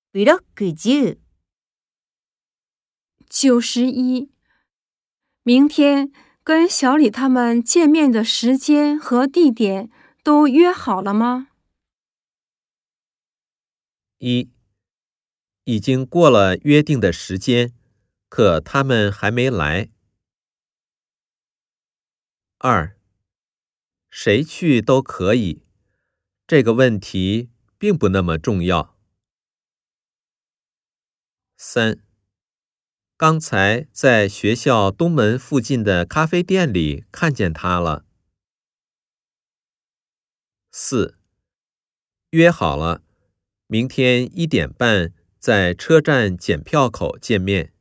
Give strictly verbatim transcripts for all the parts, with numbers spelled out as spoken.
ブロックじゅう。 九十一，明天跟小李他们见面的时间和地点都约好了吗？ 一，已经过了约定的时间，可他们还没来。二，谁去都可以，这个问题并不那么重要。三，刚才在学校东门附近的咖啡店里看见他了。四，约好了，明天一点半在车站检票口见面。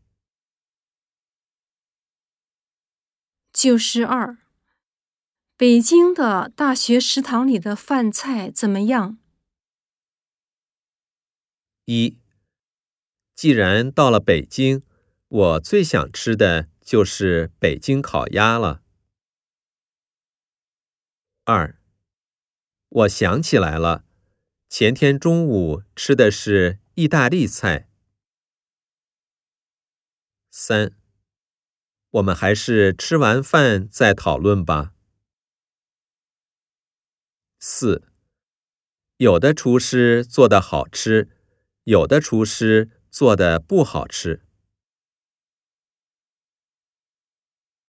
九十二，北京的大学食堂里的饭菜怎么样？ 一，既然到了北京，我最想吃的就是北京烤鸭了。二，我想起来了，前天中午吃的是意大利菜。三，我们还是吃完饭再讨论吧。四，有的厨师做得好吃，有的厨师做得不好吃。